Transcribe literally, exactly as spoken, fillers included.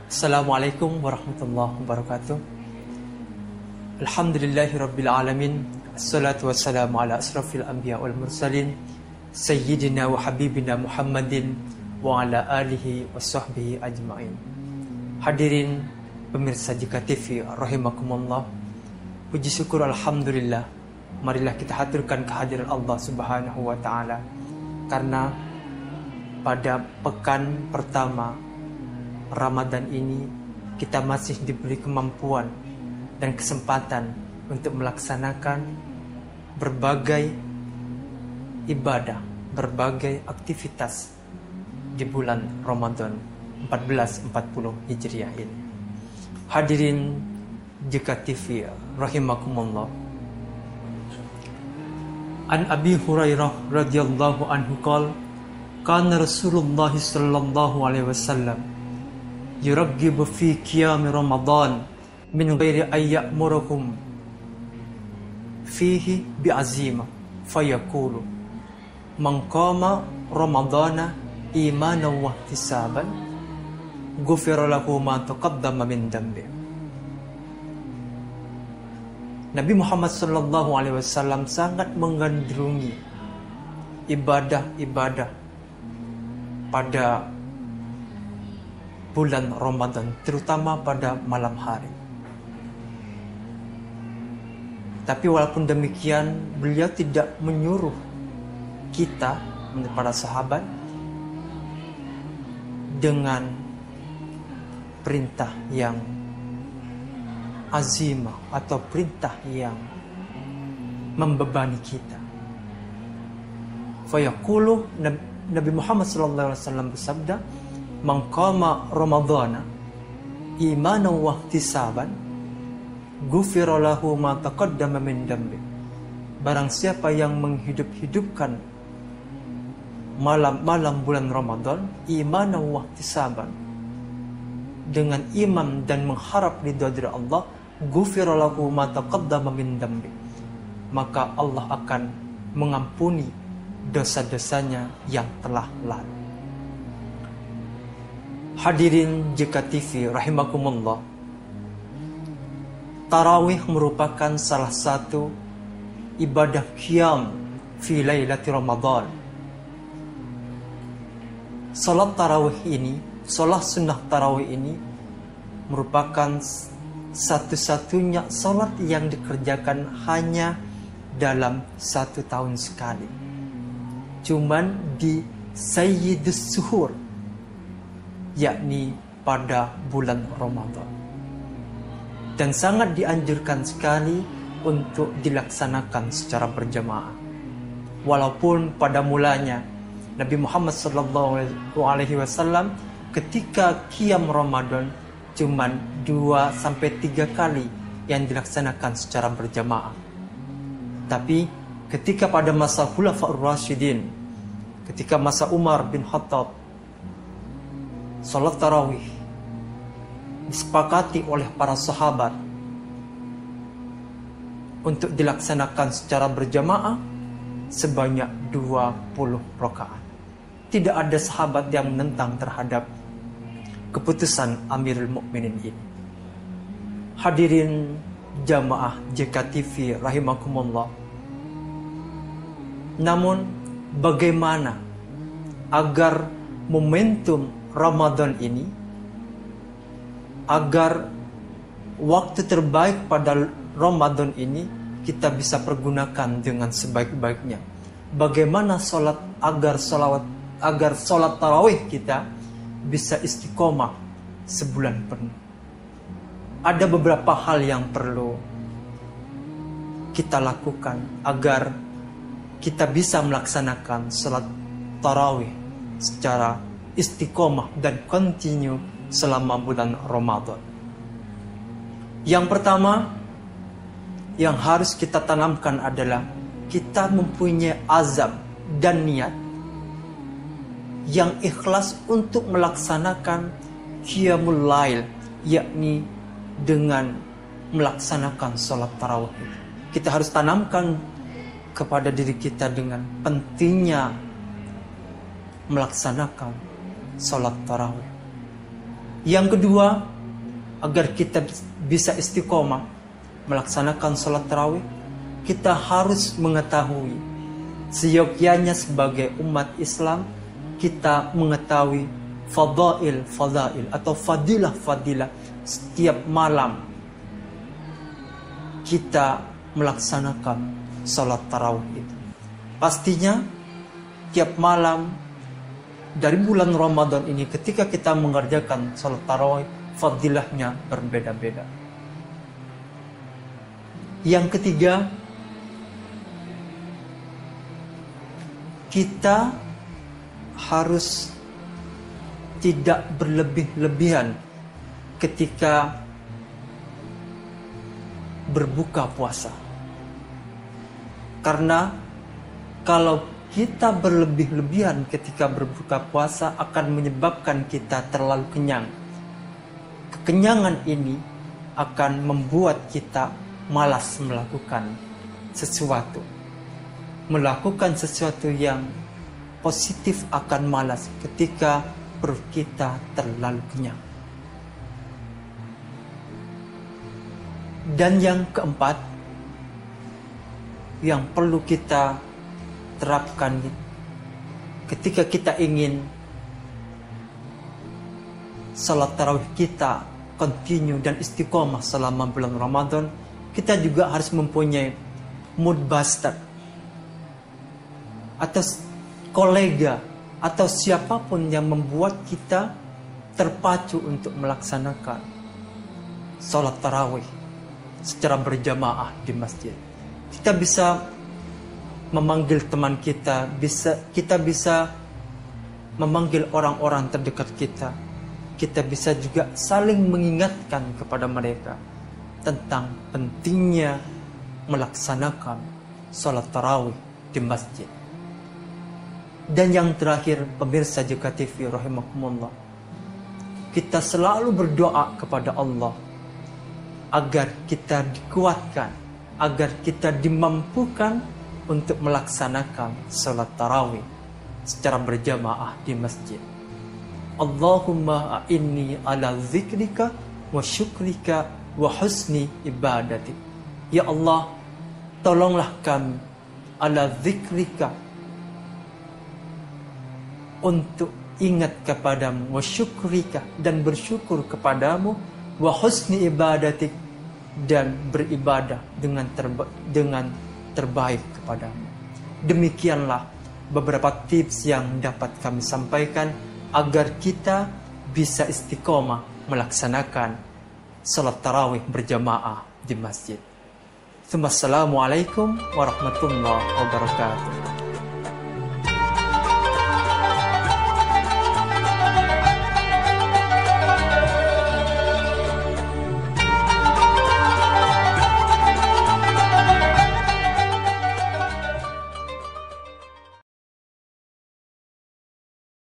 Assalamualaikum warahmatullahi wabarakatuh. Alhamdulillahi rabbil alamin. Assalatu wassalamu ala asrafil anbiya wal mursalin Sayyidina wa habibina Muhammadin wa ala alihi wa sahbihi ajma'in. Hadirin pemirsa J K T V rahimakumullah. Puji syukur alhamdulillah, marilah kita haturkan kehadiran Allah subhanahu wa ta'ala, karena pada pekan pertama Ramadan ini kita masih diberi kemampuan dan kesempatan untuk melaksanakan berbagai ibadah, berbagai aktivitas di bulan Ramadan seribu empat ratus empat puluh Hijriah ini. Hadirin J K T V rahimakumullah. An Abi Hurairah radhiyallahu anhu qala kana Rasulullah sallallahu alaihi wasallam yuraggibu fi qiyam Ramadan min ghairi ay ya'muruhum fihi bi'azima fayaqulu man qama ramadana imanan wa ihtisaban ghufira lahu ma taqaddama min dhanbi. Nabi Muhammad sallallahu alaihi wasallam sangat menggandrungi ibadah-ibadah pada bulan Ramadan, terutama pada malam hari. Tapi walaupun demikian, beliau tidak menyuruh kita, para sahabat, dengan perintah yang azimah atau perintah yang membebani kita. Fayaqulu, Nabi Muhammad sallallahu alaihi wasallam bersabda, "Man qama Ramadhana imanan wa ihtisaban, ghufira lahu ma taqaddama min dhanbi." Barang siapa yang menghidup-hidupkan malam-malam bulan Ramadan imanan wa ihtisaban, dengan iman dan mengharap ridha dari Allah, ghufira lahu ma taqaddama min dhanbi, maka Allah akan mengampuni dosa-dosanya yang telah lalu. Hadirin J K T V rahimakumullah. Tarawih merupakan salah satu ibadah qiyam fi lailati Ramadan. Salat tarawih ini, salat sunnah tarawih ini merupakan satu-satunya salat yang dikerjakan hanya dalam satu tahun sekali. Cuman di Sayyidus Suhur, yakni pada bulan Ramadan. Dan sangat dianjurkan sekali untuk dilaksanakan secara berjamaah. Walaupun pada mulanya Nabi Muhammad sallallahu alaihi wasallam ketika qiyam Ramadan cuman dua sampai tiga kali yang dilaksanakan secara berjamaah. Tapi ketika pada masa Khulafaur Rasyidin, ketika masa Umar bin Khattab, salat tarawih disepakati oleh para sahabat untuk dilaksanakan secara berjamaah sebanyak dua puluh rakaat. Tidak ada sahabat yang menentang terhadap keputusan Amirul Mukminin ini. Hadirin jamaah J K T V rahimakumullah. Namun bagaimana agar momentum Ramadan ini, agar waktu terbaik pada Ramadan ini kita bisa pergunakan dengan sebaik-baiknya? Bagaimana sholat agar sholawat agar sholat tarawih kita bisa istiqomah sebulan penuh? Ada beberapa hal yang perlu kita lakukan agar kita bisa melaksanakan sholat tarawih secara istiqomah dan kontinu selama bulan Ramadan. Yang pertama yang harus kita tanamkan adalah kita mempunyai azam dan niat yang ikhlas untuk melaksanakan qiyamul lail, yakni dengan melaksanakan sholat tarawih. Kita harus tanamkan kepada diri kita dengan pentingnya melaksanakan sholat tarawih. Yang kedua, agar kita bisa istiqomah melaksanakan sholat tarawih, kita harus mengetahui seyogyanya sebagai umat Islam, kita mengetahui fadail fadail atau fadilah fadilah setiap malam kita melaksanakan sholat tarawih itu. Pastinya tiap malam dari bulan Ramadan ini ketika kita mengerjakan sholat tarawih, fadilahnya berbeda-beda. Yang ketiga, kita harus tidak berlebih-lebihan ketika berbuka puasa. Karena kalau kita berlebih-lebihan ketika berbuka puasa akan menyebabkan kita terlalu kenyang. Kekenyangan ini akan membuat kita malas melakukan sesuatu. Melakukan sesuatu yang positif akan malas ketika perut kita terlalu kenyang. Dan yang keempat, yang perlu kita terapkan ketika kita ingin salat tarawih kita continue dan istiqomah selama bulan Ramadan, kita juga harus mempunyai mood booster atau kolega atau siapapun yang membuat kita terpacu untuk melaksanakan salat tarawih secara berjamaah di masjid. Kita bisa memanggil teman kita, bisa kita bisa memanggil orang-orang terdekat kita. Kita bisa juga saling mengingatkan kepada mereka tentang pentingnya melaksanakan salat tarawih di masjid. Dan yang terakhir, pemirsa J K T V rahimakumullah, kita selalu berdoa kepada Allah agar kita dikuatkan, agar kita dimampukan untuk melaksanakan salat tarawih secara berjamaah di masjid. Allahumma a'inni ala zikrika wa syukrika wa husni ibadatik. Ya Allah, tolonglah kami ala zikrika, untuk ingat kepadamu, wa syukrika, dan bersyukur kepadamu, wa husni ibadatik, dan beribadah dengan terba- dengan terbaik kepadamu. Demikianlah beberapa tips yang dapat kami sampaikan agar kita bisa istiqomah melaksanakan salat tarawih berjamaah di masjid. Assalamualaikum warahmatullahi wabarakatuh.